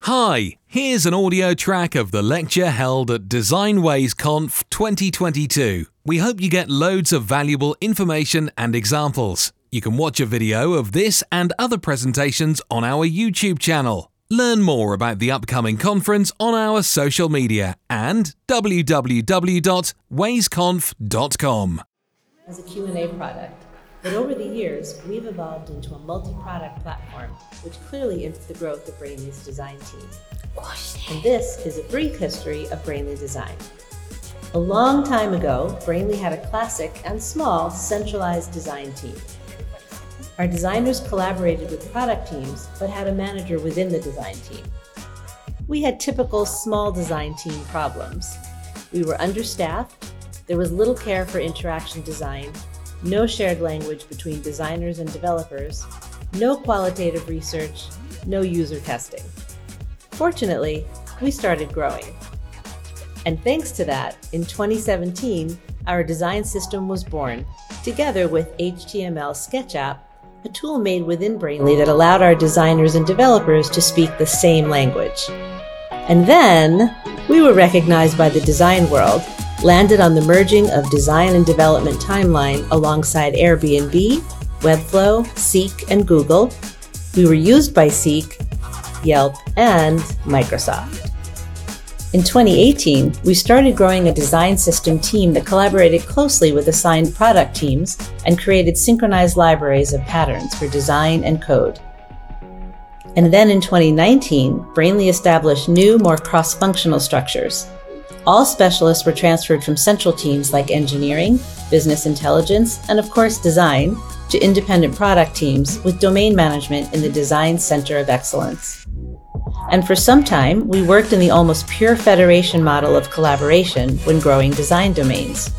Hi, here's an audio track of the lecture held at DesignWays Conf 2022. We hope you get loads of valuable information and examples. You can watch a video of this and other presentations on our YouTube channel. Learn more about the upcoming conference on our social media and www.waysconf.com. As a Q&A product, but over the years, we've evolved into a multi-product platform, which clearly is the growth of Brainly's design team. And this is a brief history of Brainly Design. A long time ago, Brainly had a classic and small centralized design team. Our designers collaborated with product teams, but had a manager within the design team. We had typical small design team problems. We were understaffed, there was little care for interaction design, no shared language between designers and developers, no qualitative research, no user testing. Fortunately, we started growing. And thanks to that, in 2017, our design system was born, together with HTML SketchUp, a tool made within Brainly that allowed our designers and developers to speak the same language. And then, we were recognized by the design world, landed on the merging of design and development timeline alongside Airbnb, Webflow, Seek, and Google. We were used by Seek, Yelp, and Microsoft. In 2018, we started growing a design system team that collaborated closely with assigned product teams and created synchronized libraries of patterns for design and code. And then in 2019, Brainly established new, more cross-functional structures. All specialists were transferred from central teams like engineering, business intelligence, and of course design, to independent product teams with domain management in the Design Center of Excellence. And for some time, we worked in the almost pure federation model of collaboration when growing design domains.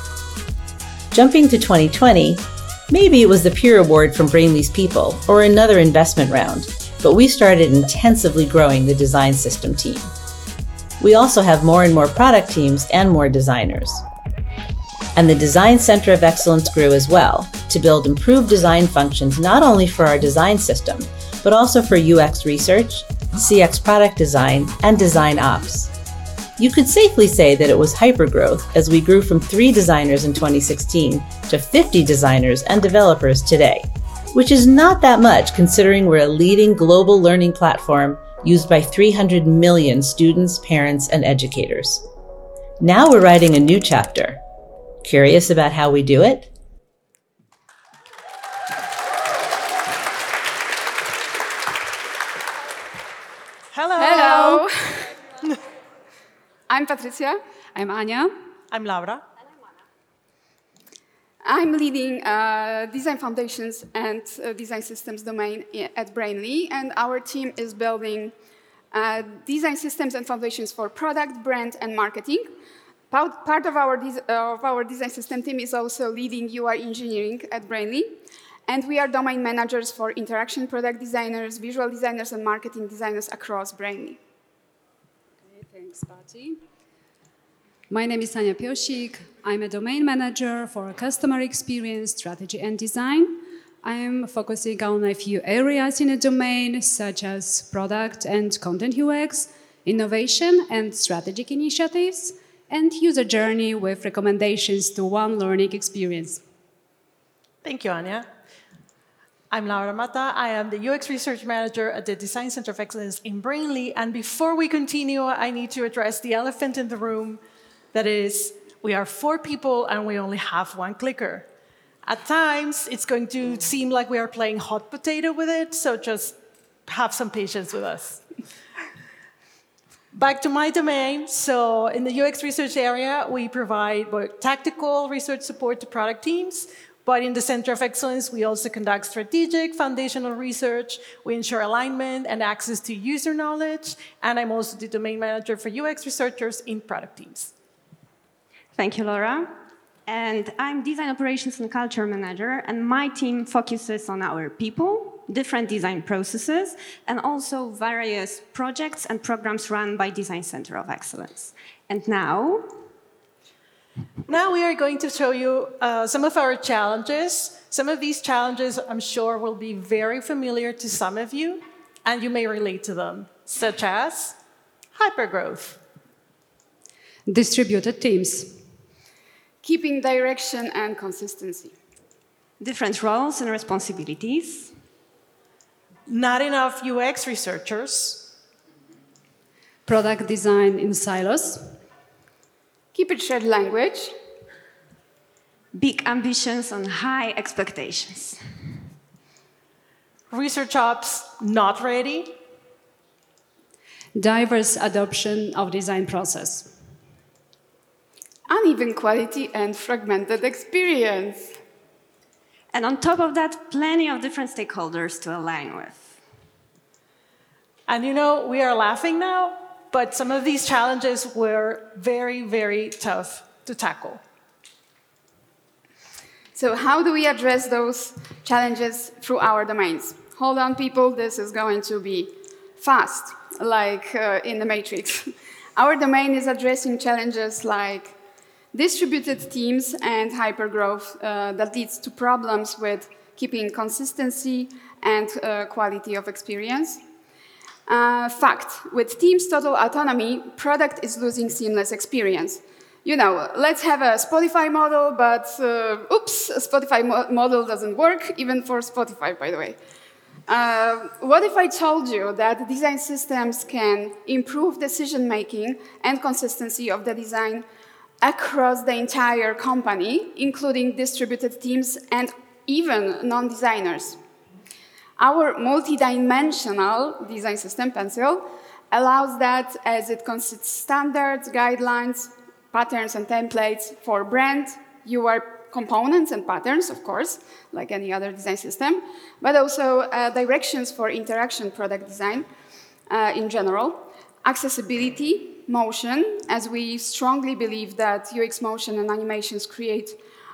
Jumping to 2020, maybe it was the Peer Award from Brainly's people or another investment round, but we started intensively growing the design system team. We also have more and more product teams and more designers. And the Design Center of Excellence grew as well to build improved design functions not only for our design system, but also for UX research, CX product design, and design ops. You could safely say that it was hypergrowth as we grew from 3 designers in 2016 to 50 designers and developers today, which is not that much considering we're a leading global learning platform used by 300 million students, parents, and educators. Now we're writing a new chapter. Curious about how we do it? Hello. I'm Patricia. I'm Anya. I'm Laura. I'm leading Design Foundations and Design Systems domain at Brainly, and our team is building design systems and foundations for product, brand, and marketing. Part of our design system team is also leading UI engineering at Brainly, and we are domain managers for interaction product designers, visual designers, and marketing designers across Brainly. Okay, thanks, Patty. My name is Tanya Piosik. I'm a domain manager for customer experience, strategy, and design. I'm focusing on a few areas in a domain, such as product and content UX, innovation and strategic initiatives, and user journey with recommendations to one learning experience. Thank you, Anya. I'm Laura Mata. I am the UX Research Manager at the Design Center of Excellence in Brainly. And before we continue, I need to address the elephant in the room. That is, we are 4 people and we only have 1 clicker. At times, it's going to seem like we are playing hot potato with it, so just have some patience with us. Back to my domain. So in the UX research area, we provide both tactical research support to product teams, but in the Center of Excellence, we also conduct strategic, foundational research. We ensure alignment and access to user knowledge, and I'm also the domain manager for UX researchers in product teams. Thank you, Laura. And I'm Design Operations and Culture Manager, and my team focuses on our people, different design processes, and also various projects and programs run by Design Center of Excellence. And now we are going to show you some of our challenges. Some of these challenges, I'm sure, will be very familiar to some of you, and you may relate to them. such as hypergrowth, Distributed teams. Keeping direction and consistency. Different roles and responsibilities. not enough UX researchers, Product design in silos. Keep it shared language. Big ambitions and high expectations. research ops not ready, Diverse adoption of design process. Uneven quality and fragmented experience. And on top of that, plenty of different stakeholders to align with. And you know, we are laughing now, but some of these challenges were very, very tough to tackle. So how do we address those challenges through our domains? Hold on, people, this is going to be fast, like in the Matrix. Our domain is addressing challenges like distributed teams and hypergrowth that leads to problems with keeping consistency and quality of experience. Fact, with teams' total autonomy, product is losing seamless experience. You know, let's have a Spotify model, but oops, a Spotify model doesn't work, even for Spotify, by the way. What if I told you that design systems can improve decision-making and consistency of the design across the entire company, including distributed teams and even non-designers? Our multi-dimensional design system, Pencil, allows that as it consists standards, guidelines, patterns, and templates for brand, UI components and patterns, of course, like any other design system, but also directions for interaction product design in general, accessibility, motion, as we strongly believe that UX motion and animations create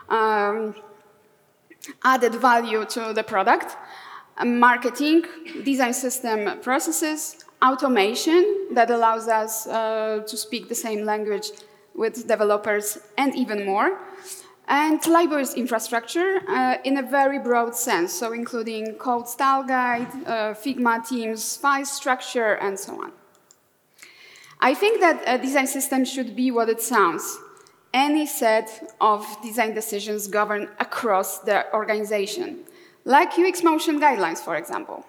added value to the product, marketing, design system processes, automation that allows us to speak the same language with developers and even more, and libraries infrastructure in a very broad sense, so including code style guide, Figma teams, file structure, and so on. I think that a design system should be what it sounds. Any set of design decisions governed across the organization, like UX motion guidelines, for example.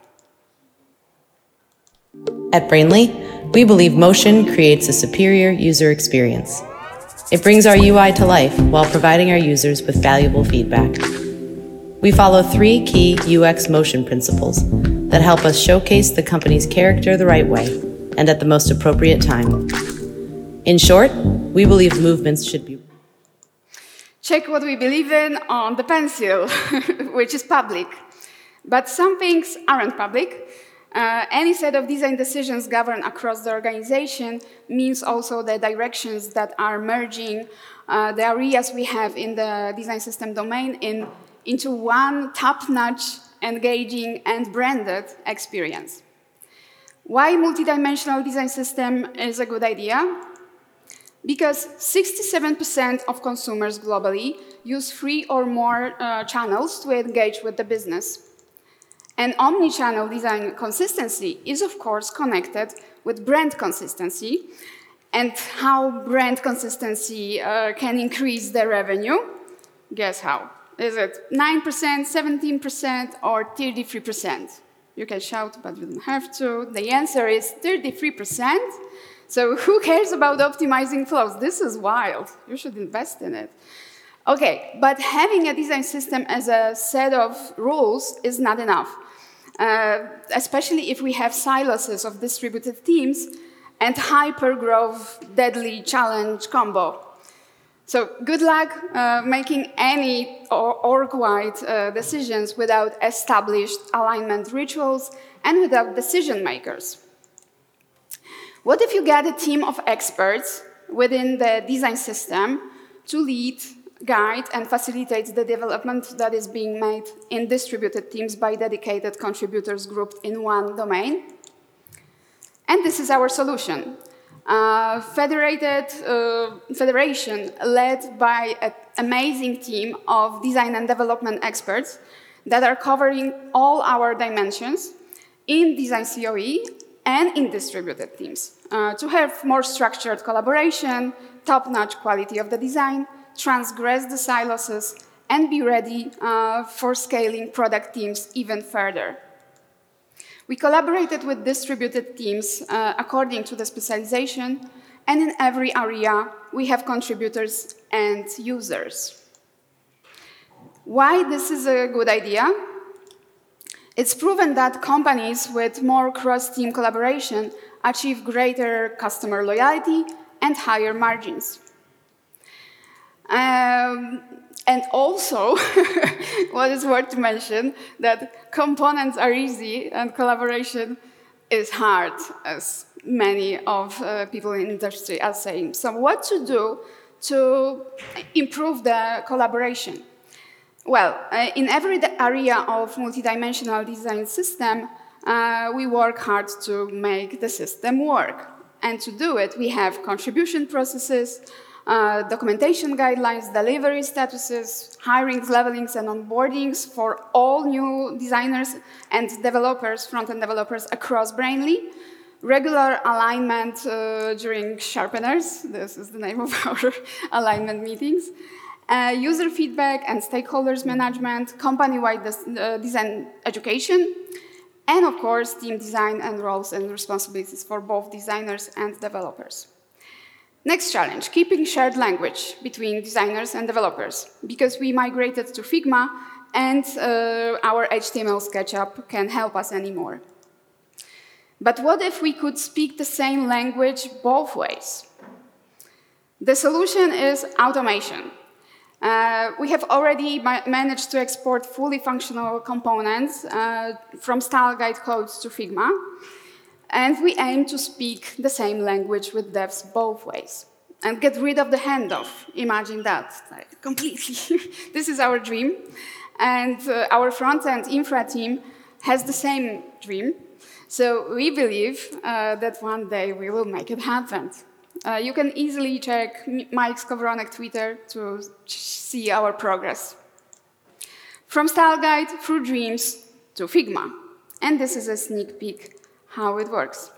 At Brainly, we believe motion creates a superior user experience. It brings our UI to life while providing our users with valuable feedback. We follow 3 key UX motion principles that help us showcase the company's character the right way and at the most appropriate time. In short, we believe movements should be... Check what we believe in on the Pencil, which is public. But some things aren't public. Any set of design decisions governed across the organization means also the directions that are merging the areas we have in the design system domain into one top-notch, engaging, and branded experience. Why multidimensional design system is a good idea? Because 67% of consumers globally use 3 or more channels to engage with the business. And omni-channel design consistency is, of course, connected with brand consistency and how brand consistency can increase the revenue. Guess how? Is it 9%, 17%, or 33%? You can shout, but you don't have to. The answer is 33%. So who cares about optimizing flows? This is wild. You should invest in it. Okay, but having a design system as a set of rules is not enough, especially if we have silos of distributed teams and hyper-growth deadly challenge combo. So good luck making any org-wide decisions without established alignment rituals and without decision makers. What if you get a team of experts within the design system to lead, guide, and facilitate the development that is being made in distributed teams by dedicated contributors grouped in one domain? And this is our solution. Federation led by an amazing team of design and development experts that are covering all our dimensions in design COE and in distributed teams to have more structured collaboration, top-notch quality of the design, transgress the silos, and be ready for scaling product teams even further. We collaborated with distributed teams according to the specialization, and in every area we have contributors and users. Why this is a good idea? It's proven that companies with more cross-team collaboration achieve greater customer loyalty and higher margins. And also, what is worth to mention, that components are easy and collaboration is hard, as many of people in industry are saying. So what to do to improve the collaboration? Well, in every area of multidimensional design system, we work hard to make the system work. And to do it, we have contribution processes, documentation guidelines, delivery statuses, hirings, levelings, and onboardings for all new designers and developers, front-end developers across Brainly, regular alignment during sharpeners, this is the name of our alignment meetings, user feedback and stakeholders management, company-wide design education, and of course, team design and roles and responsibilities for both designers and developers. Next challenge, keeping shared language between designers and developers, because we migrated to Figma and our HTML SketchUp can help us anymore. But what if we could speak the same language both ways? The solution is automation. We have already managed to export fully functional components from style guide codes to Figma, and we aim to speak the same language with devs both ways and get rid of the handoff. Imagine that, like, completely. This is our dream, and our front-end infra team has the same dream, so we believe that one day we will make it happen. You can easily check Mike Skowronek Twitter to see our progress. From style guide through dreams to Figma. And this is a sneak peek how it works.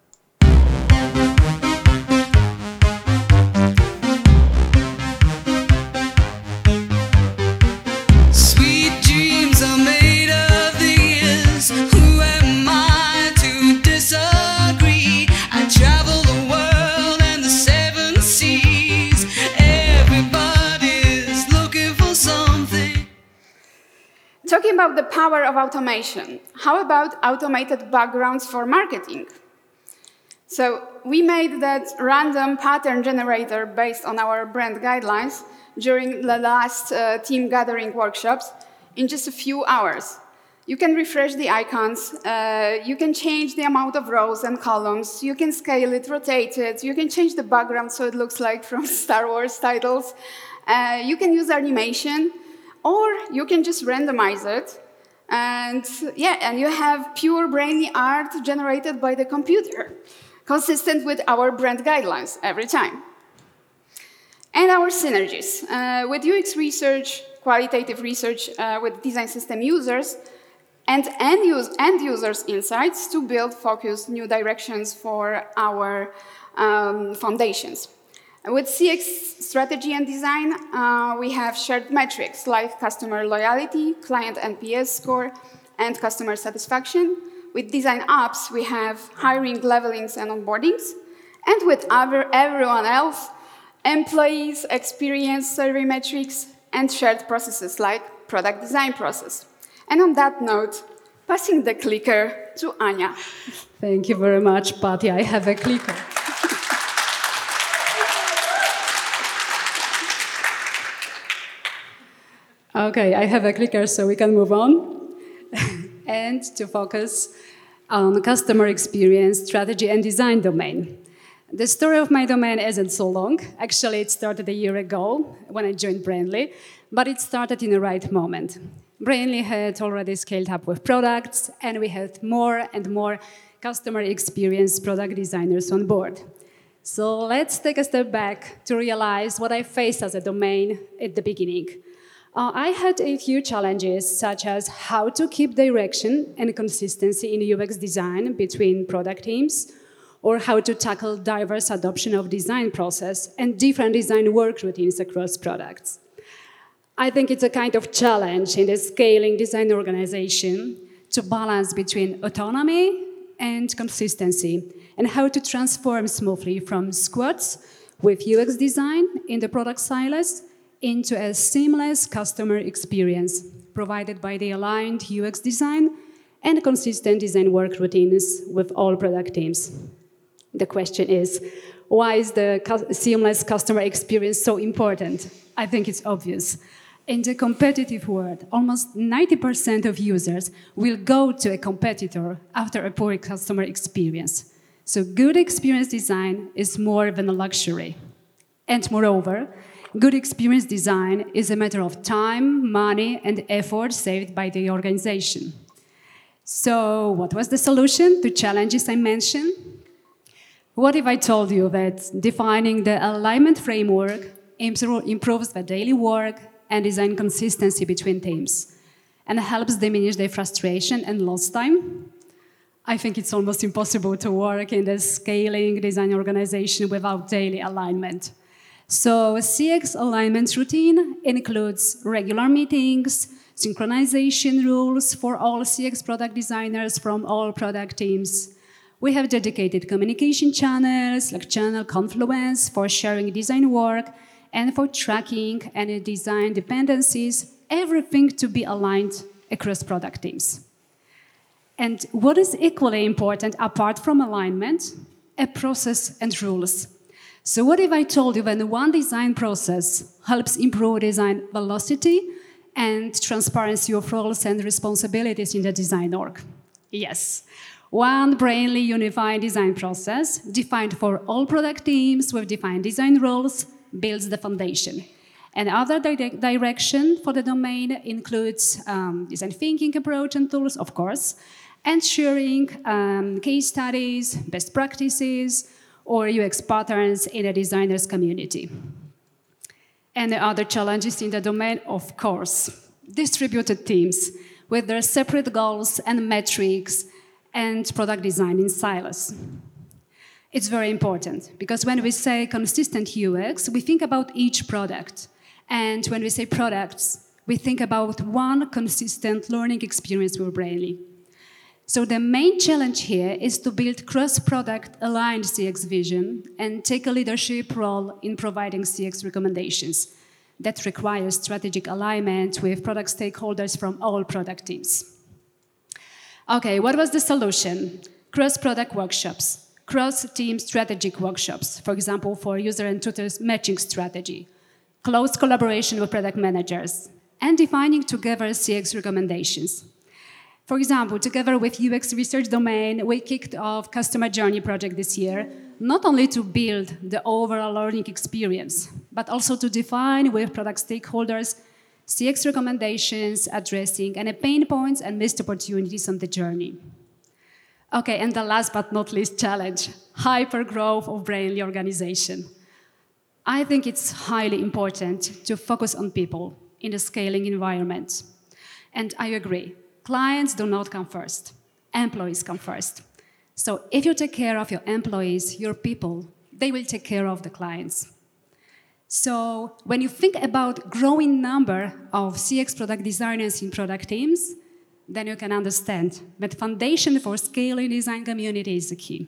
Sweet dreams are made of these. Who am I to disagree? I travel the world and the seven seas. Everybody's looking for something. Talking about the power of automation, how about automated backgrounds for marketing? So we made that random pattern generator based on our brand guidelines during the last team gathering workshops in just a few hours. You can refresh the icons, you can change the amount of rows and columns, you can scale it, rotate it, you can change the background so it looks like from Star Wars titles, you can use animation, or you can just randomize it, and yeah, and you have pure Brainly art generated by the computer, consistent with our brand guidelines every time. And our synergies. With UX research, qualitative research with design system users, and end users' insights to build focused new directions for our foundations. With CX strategy and design, we have shared metrics like customer loyalty, client NPS score, and customer satisfaction. With design apps, we have hiring, levelings, and onboardings. And with everyone else, employees, experience, survey metrics, and shared processes like product design process. And on that note, passing the clicker to Anya. Thank you very much, Patty. I have a clicker. Okay, I have a clicker, so we can move on. And to focus on customer experience, strategy, and design domain. The story of my domain isn't so long. Actually, it started a year ago when I joined Brainly, but it started in the right moment. Brainly had already scaled up with products, and we had more and more customer experience product designers on board. So let's take a step back to realize what I faced as a domain at the beginning. I had a few challenges, such as how to keep direction and consistency in UX design between product teams, or how to tackle diverse adoption of design process and different design work routines across products. I think it's a kind of challenge in the scaling design organization to balance between autonomy and consistency, and how to transform smoothly from squads with UX design in the product silos into a seamless customer experience provided by the aligned UX design and consistent design work routines with all product teams. The question is, why is the seamless customer experience so important? I think it's obvious. In the competitive world, almost 90% of users will go to a competitor after a poor customer experience. So good experience design is more than a luxury. And moreover, good experience design is a matter of time, money, and effort saved by the organization. So what was the solution to challenges I mentioned? What if I told you that defining the alignment framework improves the daily work and design consistency between teams and helps diminish their frustration and lost time? I think it's almost impossible to work in the scaling design organization without daily alignment. So a CX alignment routine includes regular meetings, synchronization rules for all CX product designers from all product teams. We have dedicated communication channels like Channel Confluence for sharing design work and for tracking any design dependencies, everything to be aligned across product teams. And what is equally important apart from alignment? A process and rules. So what if I told you that one design process helps improve design velocity and transparency of roles and responsibilities in the design org? Yes. One Brainly unified design process, defined for all product teams with defined design roles, builds the foundation. Another direction for the domain includes design thinking approach and tools, of course, and sharing case studies, best practices, or UX patterns in a designer's community. And the other challenges in the domain, of course, distributed teams with their separate goals and metrics and product design in silos. It's very important because when we say consistent UX, we think about each product. And when we say products, we think about one consistent learning experience with Brainly. So the main challenge here is to build cross-product aligned CX vision and take a leadership role in providing CX recommendations. That requires strategic alignment with product stakeholders from all product teams. Okay, what was the solution? Cross-product workshops, cross-team strategic workshops, for example, for user and tutors matching strategy, close collaboration with product managers, and defining together CX recommendations. For example, together with UX research domain, we kicked off customer journey project this year, not only to build the overall learning experience, but also to define with product stakeholders CX recommendations addressing any pain points and missed opportunities on the journey. Okay, and the last but not least challenge, hyper-growth of Brainly organization. I think it's highly important to focus on people in the scaling environment. And I agree. Clients do not come first. Employees come first. So if you take care of your employees, your people, they will take care of the clients. So when you think about growing number of CX product designers in product teams, then you can understand that foundation for scaling design community is the key.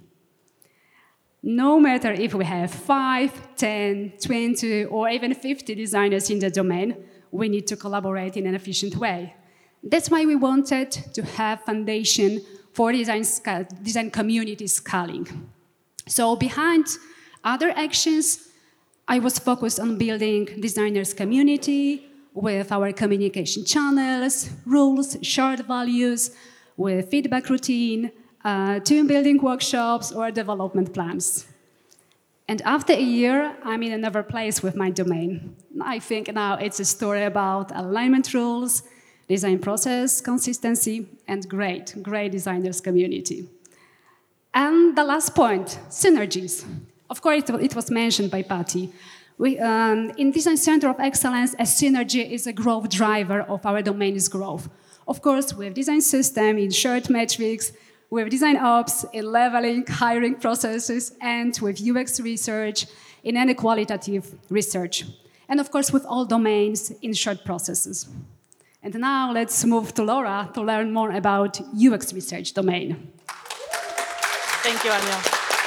No matter if we have 5, 10, 20, or even 50 designers in the domain, we need to collaborate in an efficient way. That's why we wanted to have foundation for design community scaling. So behind other actions, I was focused on building designers community with our communication channels, rules, shared values, with feedback routine, team building workshops, or development plans. And after a year, I'm in another place with my domain. I think now it's a story about alignment rules, design process, consistency, and great designers community. And the last point, synergies. Of course, it was mentioned by Patty. In Design Center of Excellence, a synergy is a growth driver of our domain's growth. Of course, we have design system in shared metrics, we have design ops in leveling, hiring processes, and with UX research in any qualitative research. And of course, with all domains in shared processes. And now let's move to Laura to learn more about UX research domain. Thank you, Anya.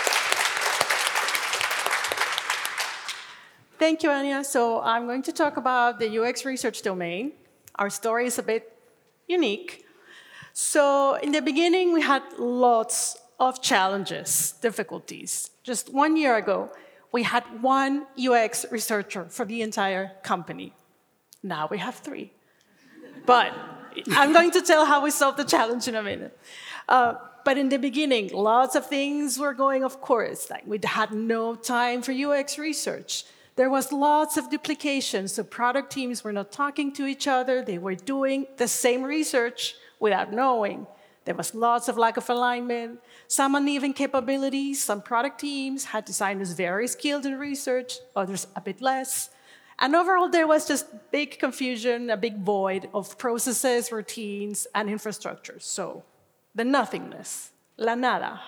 Thank you, Anya. So I'm going to talk about the UX research domain. Our story is a bit unique. So in the beginning, we had lots of challenges, difficulties. Just 1 year ago, we had one UX researcher for the entire company. Now we have 3. But I'm going to tell how we solved the challenge in a minute. But in the beginning, lots of things were going, of course. Like we had no time for UX research. There was lots of duplication, so product teams were not talking to each other. They were doing the same research without knowing. There was lots of lack of alignment, some uneven capabilities. Some product teams had designers very skilled in research, others a bit less. And overall, there was just big confusion, a big void of processes, routines, and infrastructures. So the nothingness, la nada.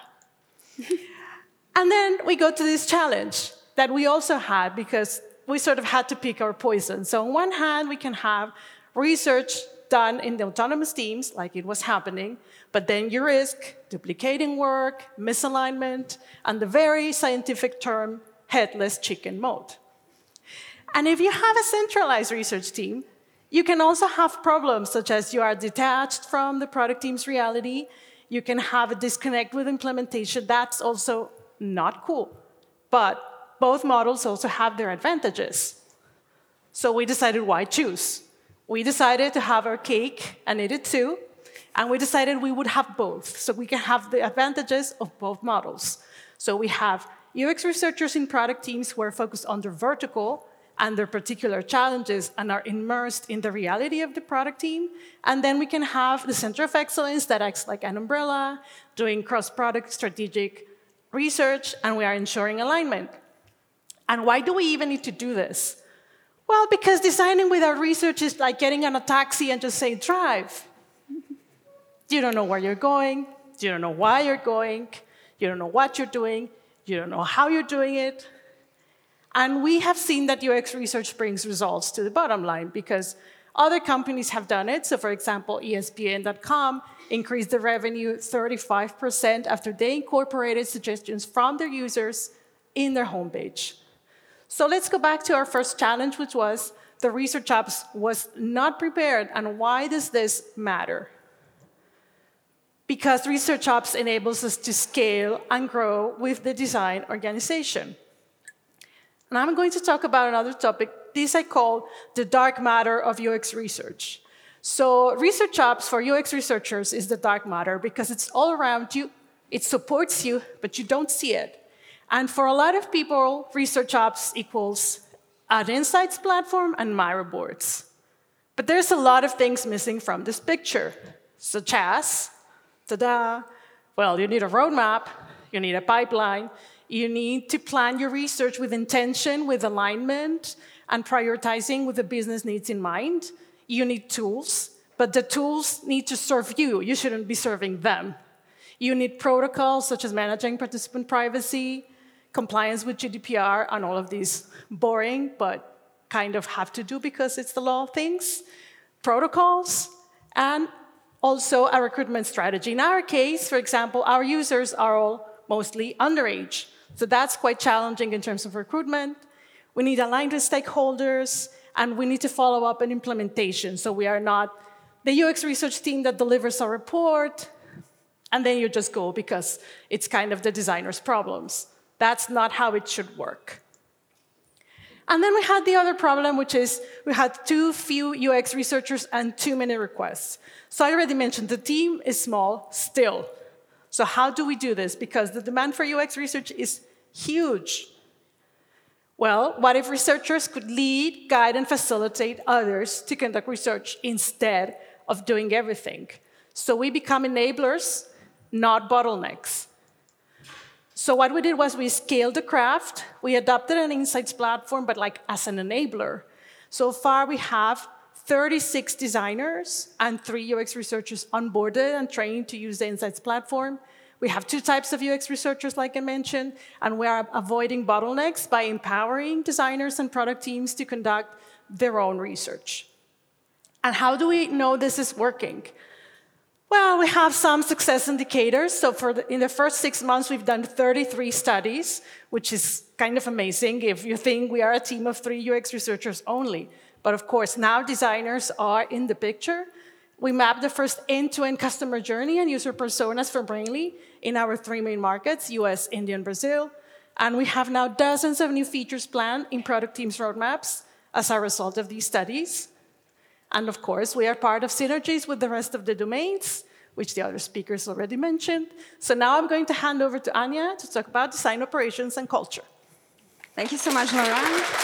And then we go to this challenge that we also had because we sort of had to pick our poison. So on one hand, we can have research done in the autonomous teams, like it was happening, but then you risk duplicating work, misalignment, and the very scientific term, headless chicken mode. And if you have a centralized research team, you can also have problems such as you are detached from the product team's reality, you can have a disconnect with implementation. That's also not cool. But both models also have their advantages. So we decided why choose. We decided to have our cake and eat it too, and we decided we would have both, so we can have the advantages of both models. So we have UX researchers in product teams who are focused on their vertical and their particular challenges and are immersed in the reality of the product team. And then we can have the Center of Excellence that acts like an umbrella, doing cross-product strategic research, and we are ensuring alignment. And why do we even need to do this? Well, because designing without research is like getting on a taxi and just saying, drive. You don't know where you're going, you don't know why you're going, you don't know what you're doing, you don't know how you're doing it. And we have seen that UX research brings results to the bottom line because other companies have done it. So for example, ESPN.com increased the revenue 35% after they incorporated suggestions from their users in their homepage. So let's go back to our first challenge, which was the research ops was not prepared. And why does this matter? Because research ops enables us to scale and grow with the design organization. And I'm going to talk about another topic. This I call the dark matter of UX research. So research ops for UX researchers is the dark matter because it's all around you, it supports you, but you don't see it. And for a lot of people, research ops equals an insights platform and Miro boards. But there's a lot of things missing from this picture, such as, ta-da, well, you need a roadmap, you need a pipeline, you need to plan your research with intention, with alignment, and prioritizing with the business needs in mind. You need tools, but the tools need to serve you. You shouldn't be serving them. You need protocols such as managing participant privacy, compliance with GDPR, and all of these boring, but kind of have to do because it's the law of things, protocols, and also a recruitment strategy. In our case, for example, our users are all mostly underage. So that's quite challenging in terms of recruitment. We need aligned with stakeholders, and we need to follow up on implementation. So we are not the UX research team that delivers a report, and then you just go because it's kind of the designer's problems. That's not how it should work. And then we had the other problem, which is we had too few UX researchers and too many requests. So I already mentioned the team is small still. So how do we do this? Because the demand for UX research is huge. Well, what if researchers could lead, guide, and facilitate others to conduct research instead of doing everything? So we become enablers, not bottlenecks. So what we did was we scaled the craft. We adopted an insights platform, but like as an enabler. So far, we have 36 designers and 3 UX researchers onboarded and trained to use the insights platform. We have 2 types of UX researchers, like I mentioned, and we are avoiding bottlenecks by empowering designers and product teams to conduct their own research. And how do we know this is working? Well, we have some success indicators. So in the first 6 months, we've done 33 studies, which is kind of amazing if you think we are a team of 3 UX researchers only. But of course, now designers are in the picture. We mapped the first end-to-end customer journey and user personas for Brainly in our 3 main markets, US, India, and Brazil. And we have now dozens of new features planned in product teams' roadmaps as a result of these studies. And of course, we are part of synergies with the rest of the domains, which the other speakers already mentioned. So now I'm going to hand over to Anya to talk about design operations and culture. Thank you so much, Laura.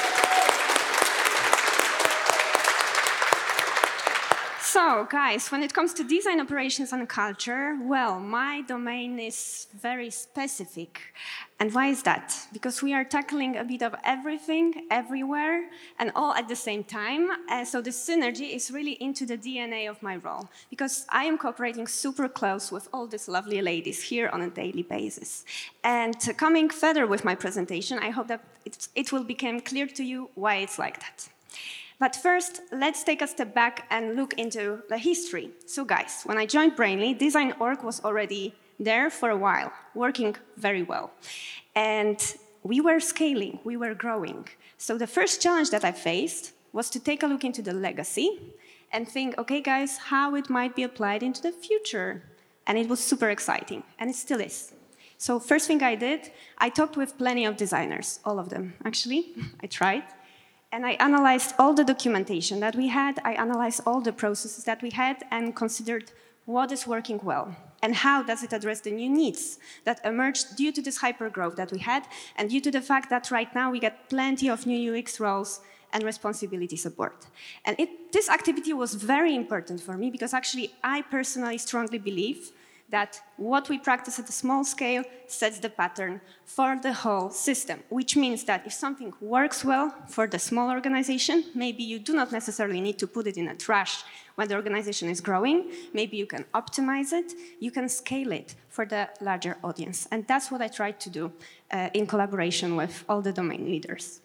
So, guys, when it comes to design operations and culture, well, my domain is very specific. And why is that? Because we are tackling a bit of everything, everywhere, and all at the same time. So the synergy is really into the DNA of my role, because I am cooperating super close with all these lovely ladies here on a daily basis. And coming further with my presentation, I hope that it will become clear to you why it's like that. But first, let's take a step back and look into the history. So guys, when I joined Brainly, Design.org was already there for a while, working very well. And we were scaling, we were growing. So the first challenge that I faced was to take a look into the legacy and think, okay guys, how it might be applied into the future. And it was super exciting, and it still is. So first thing I did, I talked with plenty of designers, all of them, actually, I tried. And I analyzed all the documentation that we had, I analyzed all the processes that we had, and considered what is working well, and how does it address the new needs that emerged due to this hypergrowth that we had, and due to the fact that right now we get plenty of new UX roles and responsibility support. And this activity was very important for me, because actually I personally strongly believe that what we practice at a small scale sets the pattern for the whole system, which means that if something works well for the small organization, maybe you do not necessarily need to put it in a trash when the organization is growing. Maybe you can optimize it, you can scale it for the larger audience. And that's what I tried to do in collaboration with all the domain leaders.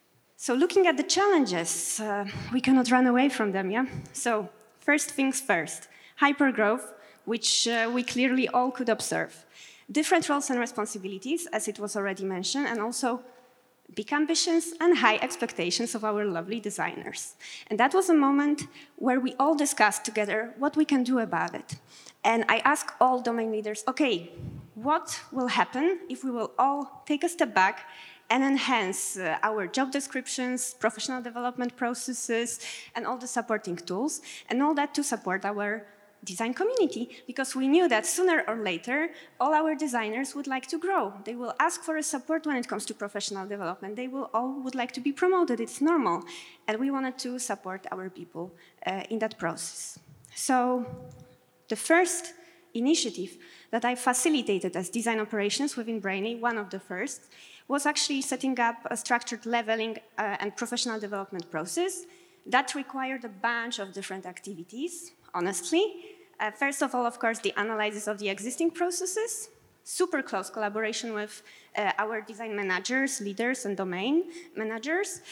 So looking at the challenges, we cannot run away from them, yeah? So first things first, hypergrowth, which we clearly all could observe. Different roles and responsibilities, as it was already mentioned, and also big ambitions and high expectations of our lovely designers. And that was a moment where we all discussed together what we can do about it. And I asked all domain leaders, okay, what will happen if we will all take a step back and enhance our job descriptions, professional development processes, and all the supporting tools, and all that to support our design community, because we knew that sooner or later, all our designers would like to grow. They will ask for a support when it comes to professional development. They would like to be promoted. It's normal. And we wanted to support our people in that process. So the first initiative that I facilitated as design operations within Brainly, one of the first, was actually setting up a structured leveling and professional development process that required a bunch of different activities, honestly. First of all, of course, the analysis of the existing processes, super close collaboration with our design managers, leaders, and domain managers.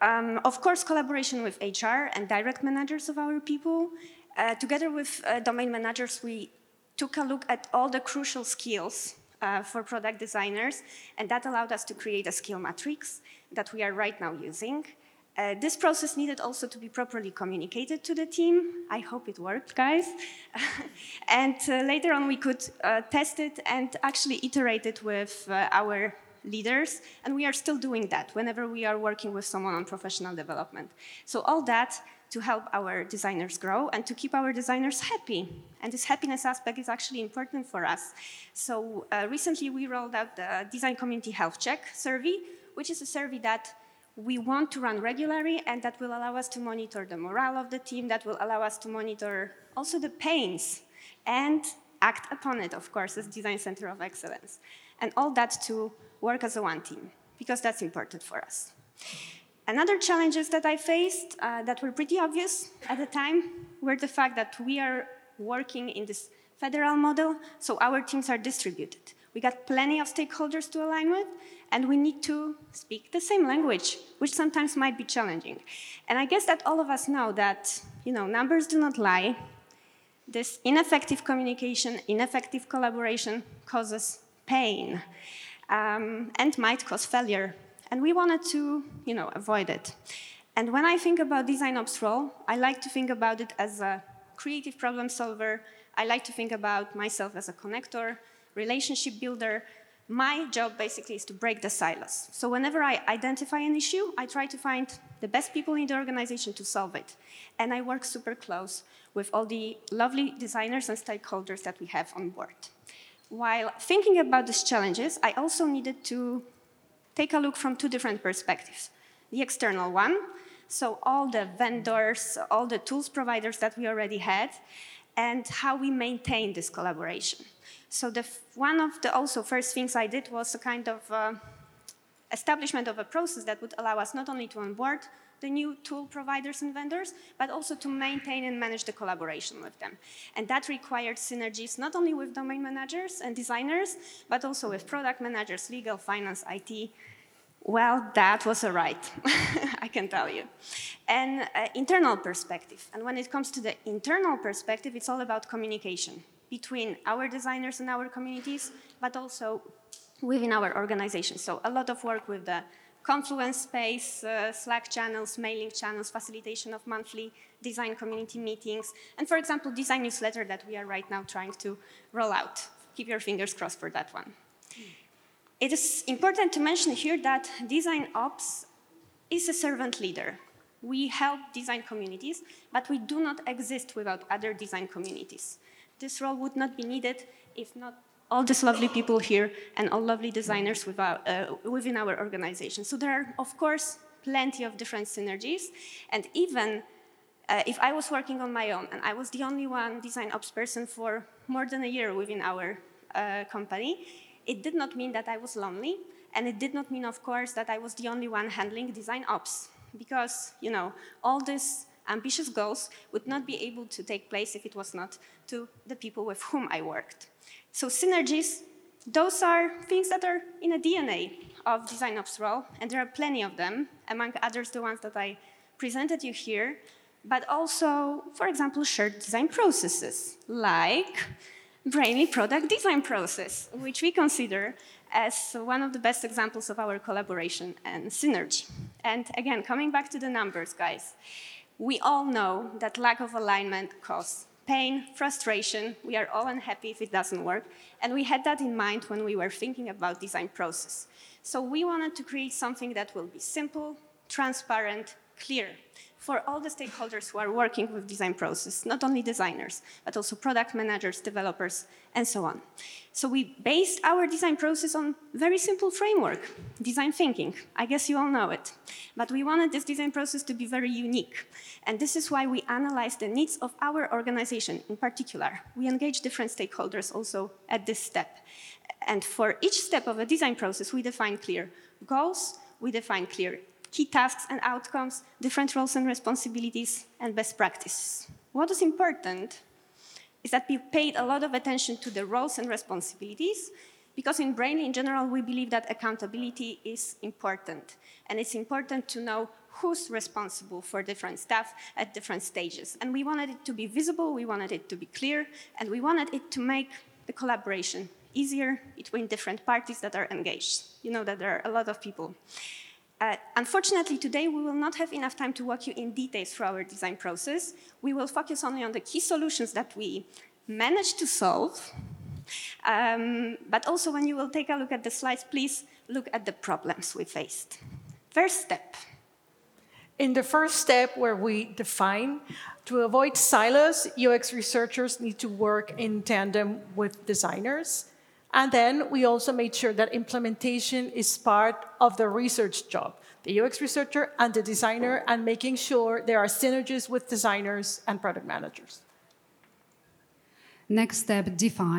Of course, collaboration with HR and direct managers of our people. Together with domain managers, we took a look at all the crucial skills for product designers, and that allowed us to create a skill matrix that we are right now using. This process needed also to be properly communicated to the team. I hope it worked, guys. And later on, we could test it and actually iterate it with our leaders. And we are still doing that whenever we are working with someone on professional development. So all that to help our designers grow and to keep our designers happy. And this happiness aspect is actually important for us. So recently, we rolled out the Design Community Health Check survey, which is a survey that we want to run regularly, and that will allow us to monitor the morale of the team, that will allow us to monitor also the pains and act upon it, of course, as Design Center of Excellence. and all that to work as a one team, because that's important for us. Another challenges that I faced that were pretty obvious at the time were the fact that we are working in this federal model, so our teams are distributed. We got plenty of stakeholders to align with, and we need to speak the same language, which sometimes might be challenging. And I guess that all of us know that, numbers do not lie. This ineffective communication, ineffective collaboration causes pain and might cause failure. And we wanted to, avoid it. And when I think about design ops role, I like to think about it as a creative problem solver. I like to think about myself as a connector, relationship builder. My job basically is to break the silos. So whenever I identify an issue, I try to find the best people in the organization to solve it. And I work super close with all the lovely designers and stakeholders that we have on board. While thinking about these challenges, I also needed to take a look from two different perspectives. The external one, so all the vendors, all the tools providers that we already had, and how we maintain this collaboration. So one of the also first things I did was a kind of establishment of a process that would allow us not only to onboard the new tool providers and vendors, but also to maintain and manage the collaboration with them. And that required synergies not only with domain managers and designers, but also with product managers, legal, finance, IT. Well, that was a ride, I can tell you. And internal perspective. And when it comes to the internal perspective, it's all about communication between our designers and our communities, but also within our organization. So a lot of work with the Confluence space, Slack channels, mailing channels, facilitation of monthly design community meetings, and for example, design newsletter that we are right now trying to roll out. Keep your fingers crossed for that one. It is important to mention here that design ops is a servant leader. We help design communities, but we do not exist without other design communities. This role would not be needed if not all these lovely people here and all lovely designers within our organization. So there are, of course, plenty of different synergies. And even if I was working on my own and I was the only one design ops person for more than a year within our company, it did not mean that I was lonely. And it did not mean, of course, that I was the only one handling design ops. Because, all these ambitious goals would not be able to take place if it was not to the people with whom I worked. So synergies, those are things that are in the DNA of design ops role, and there are plenty of them, among others the ones that I presented you here, but also, for example, shared design processes, like Brainly product design process, which we consider as one of the best examples of our collaboration and synergy. And again, coming back to the numbers, guys, we all know that lack of alignment causes pain, frustration. We are all unhappy if it doesn't work. And we had that in mind when we were thinking about design process. So we wanted to create something that will be simple, transparent, clear for all the stakeholders who are working with design process, not only designers, but also product managers, developers, and so on. So we based our design process on very simple framework, design thinking. I guess you all know it. But we wanted this design process to be very unique. And this is why we analyzed the needs of our organization in particular. We engage different stakeholders also at this step. And for each step of a design process, we define clear goals, we define clear key tasks and outcomes, different roles and responsibilities, and best practices. What is important is that we paid a lot of attention to the roles and responsibilities, because in Brainly, in general, we believe that accountability is important. And it's important to know who's responsible for different stuff at different stages. And we wanted it to be visible, we wanted it to be clear, and we wanted it to make the collaboration easier between different parties that are engaged. You know that there are a lot of people. Unfortunately, today we will not have enough time to walk you in details through our design process. We will focus only on the key solutions that we managed to solve. But also when you will take a look at the slides, please look at the problems we faced. First step. In the first step where we define, to avoid silos, UX researchers need to work in tandem with designers. And then we also made sure that implementation is part of the research job, the UX researcher and the designer, and making sure there are synergies with designers and product managers. Next step, define.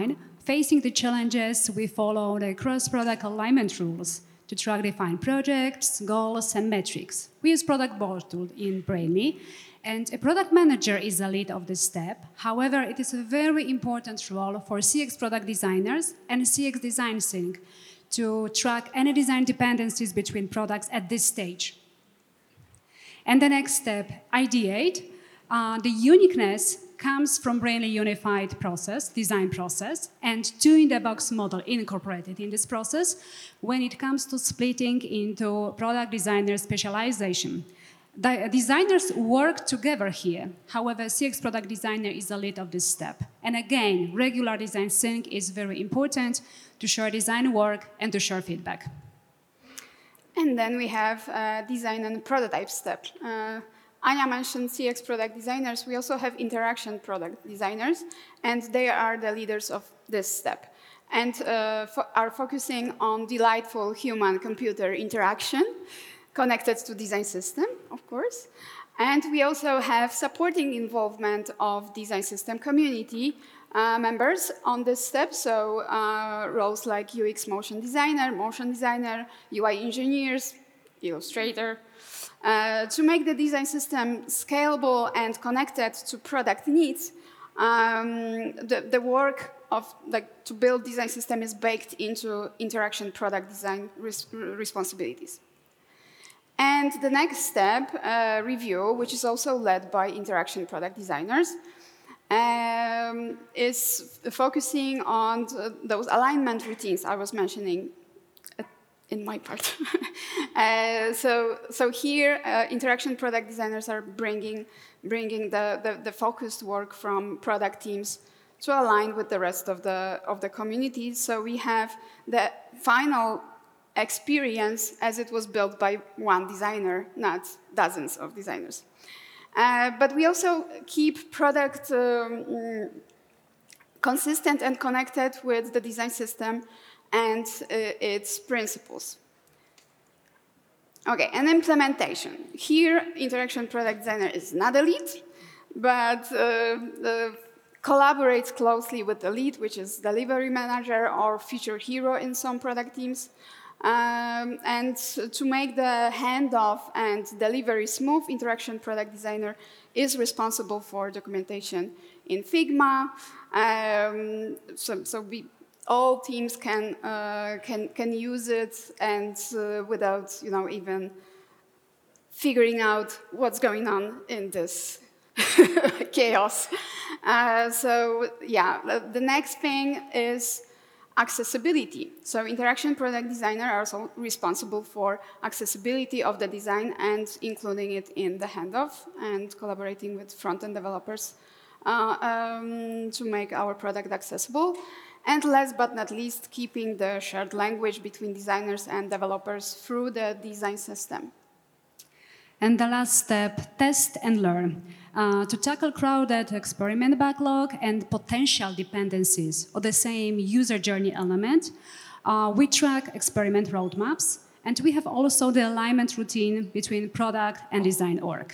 facing the challenges, we follow the cross-product alignment rules to track defined projects, goals, and metrics. We use product board tool in Brainly, and a product manager is the lead of this step. However, it is a very important role for CX product designers and CX design sync to track any design dependencies between products at this stage. And the next step, ideate. The uniqueness comes from Brainly unified process, design process, and two-in-the-box model incorporated in this process when it comes to splitting into product designer specialization. The designers work together here. However, CX product designer is the lead of this step. And again, regular design sync is very important to share design work and to share feedback. And then we have design and prototype step. Anya mentioned CX product designers. We also have interaction product designers, and they are the leaders of this step and are focusing on delightful human-computer interaction connected to design system, of course. And we also have supporting involvement of design system community members on this step, so roles like UX motion designer, UI engineers, illustrator, to make the design system scalable and connected to product needs. The work of to build design system is baked into interaction product design responsibilities. And the next step, review, which is also led by interaction product designers, is focusing on those alignment routines I was mentioning in my part. So here, interaction product designers are bringing the focused work from product teams to align with the rest of the community. So we have the final experience as it was built by one designer, not dozens of designers. But we also keep product consistent and connected with the design system and its principles. Okay, and implementation. Here, interaction product designer is not a lead, but collaborates closely with the lead, which is delivery manager or feature hero in some product teams. And to make the handoff and delivery smooth, interaction product designer is responsible for documentation in Figma. So all teams can use it, and without even figuring out what's going on in this chaos. So yeah, the next thing is accessibility. So interaction product designer are also responsible for accessibility of the design and including it in the handoff and collaborating with front-end developers to make our product accessible. And last but not least, keeping the shared language between designers and developers through the design system. And the last step, test and learn. To tackle crowded experiment backlog and potential dependencies of the same user journey element, we track experiment roadmaps, and we have also the alignment routine between product and design org.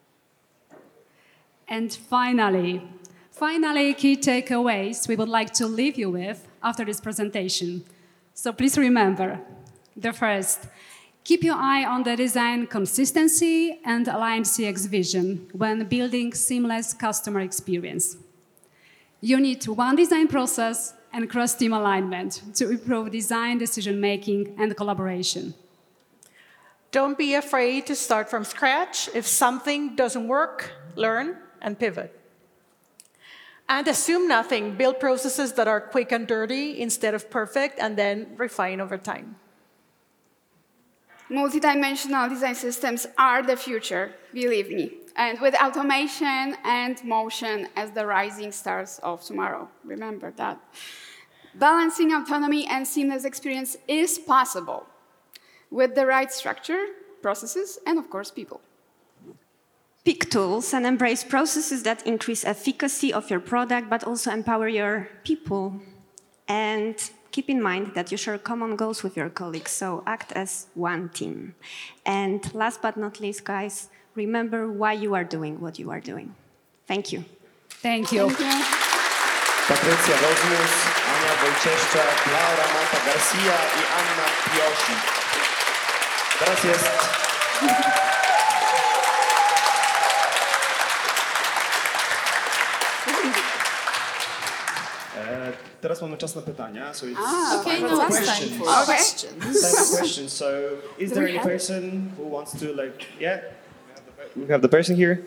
And finally, key takeaways we would like to leave you with after this presentation. So please remember, the first, keep your eye on the design consistency and aligned CX vision when building seamless customer experience. You need one design process and cross-team alignment to improve design decision-making and collaboration. Don't be afraid to start from scratch. If something doesn't work, learn and pivot. And assume nothing. Build processes that are quick and dirty instead of perfect, and then refine over time. Multidimensional design systems are the future, believe me, and with automation and motion as the rising stars of tomorrow. Remember that. Balancing autonomy and seamless experience is possible with the right structure, processes, and of course, people. Pick tools and embrace processes that increase efficacy of your product, but also empower your people. And keep in mind that you share common goals with your colleagues, so act as one team. And last but not least, guys, remember why you are doing what you are doing. Thank you. Thank you. Patrycja Woźnius, Ania Wojcieszczak, Laura Mata Garcia i Anna Piosik. Teraz jest... Teraz mamy czas na pytania. So it's okay, time no, for last questions. time for questions. Time for questions. So is there any person who wants to yeah? We have the person here.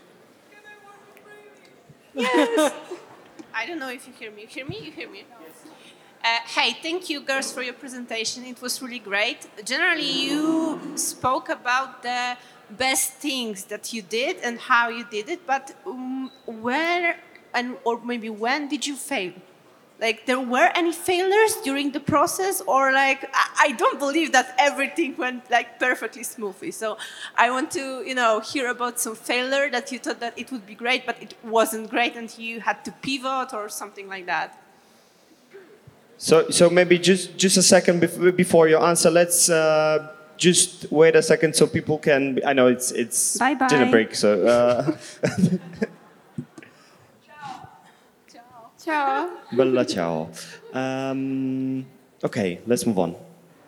Yes. I don't know if you hear me. You hear me? You hear me? Hey, thank you, girls, for your presentation. It was really great. Generally, you spoke about the best things that you did and how you did it, but where or maybe when did you fail? Like, there were any failures during the process, or like, I don't believe that everything went like perfectly smoothly. So I want to, hear about some failure that you thought that it would be great, but it wasn't great, and you had to pivot or something like that. So maybe just a second before your answer, let's just wait a second so people can. I know it's Bye-bye. dinner break, so. Ciao. Bella ciao. Okay, let's move on.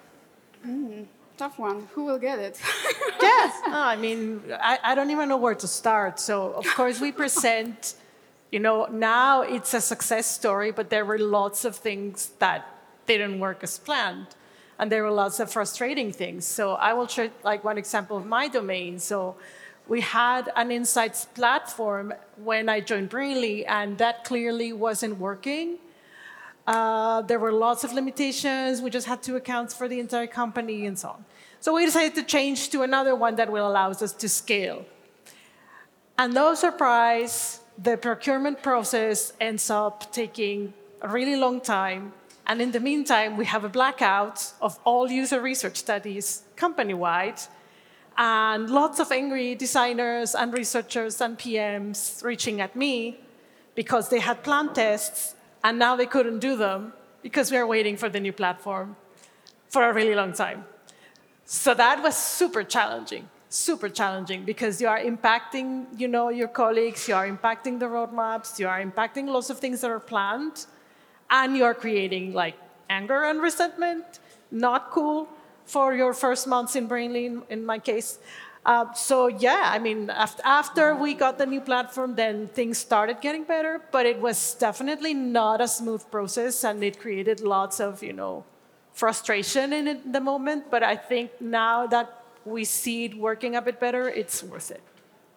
Tough one. Who will get it? Yes. No, I mean, I don't even know where to start. So, of course, we present, now it's a success story, but there were lots of things that didn't work as planned. And there were lots of frustrating things. So I will share like one example of my domain. So we had an insights platform when I joined Brainly, and that clearly wasn't working. There were lots of limitations. We just had 2 accounts for the entire company and so on. So we decided to change to another one that will allow us to scale. And no surprise, the procurement process ends up taking a really long time. And in the meantime, we have a blackout of all user research studies company-wide, and lots of angry designers and researchers and PMs reaching at me because they had planned tests and now they couldn't do them because we are waiting for the new platform for a really long time. So that was super challenging because you are impacting, your colleagues, you are impacting the roadmaps, you are impacting lots of things that are planned, and you are creating like anger and resentment, not cool for your first months in Brainly, in my case. So yeah, I mean, after we got the new platform, then things started getting better, but it was definitely not a smooth process, and it created lots of, frustration in the moment. But I think now that we see it working a bit better, it's worth it.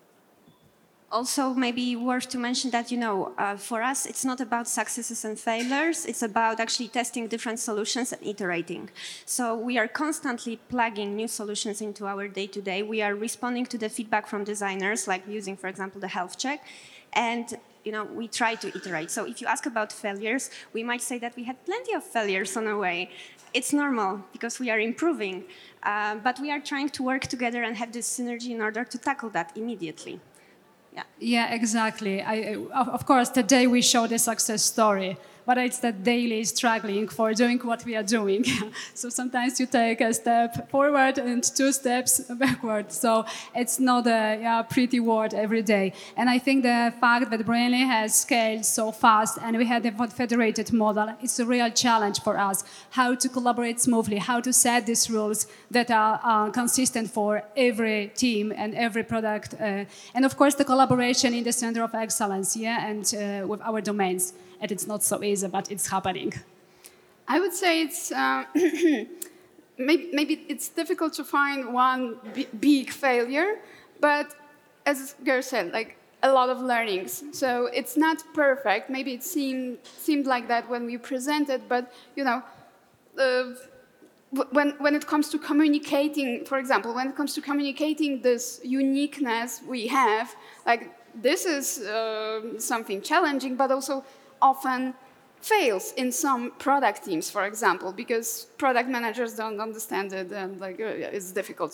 Also, maybe worth to mention that, for us, it's not about successes and failures. It's about actually testing different solutions and iterating. So we are constantly plugging new solutions into our day-to-day. We are responding to the feedback from designers, like using, for example, the health check. And, we try to iterate. So if you ask about failures, we might say that we had plenty of failures on the way. It's normal because we are improving. But we are trying to work together and have this synergy in order to tackle that immediately. Yeah, exactly. Of course, today we show the success story, but it's the daily struggling for doing what we are doing. So sometimes you take a step forward and 2 steps backward. So it's not a pretty word every day. And I think the fact that Brainly has scaled so fast and we had a federated model, it's a real challenge for us. How to collaborate smoothly, how to set these rules that are consistent for every team and every product. And of course, the collaboration in the center of excellence, and with our domains. And it's not so easy, but it's happening. I would say it's maybe it's difficult to find one big failure, but as Ger said, like a lot of learnings. So it's not perfect. Maybe it seemed like that when we presented, but when it comes to communicating, for example, when it comes to communicating this uniqueness we have, like this is something challenging, but also often fails in some product teams, for example, because product managers don't understand it, and it's difficult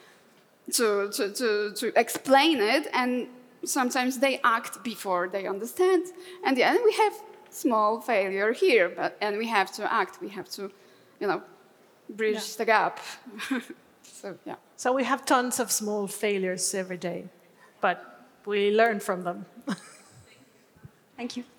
to explain it, and sometimes they act before they understand, and then we have small failure here, and we have to act, we have to, bridge the gap. So we have tons of small failures every day, but we learn from them. Thank you.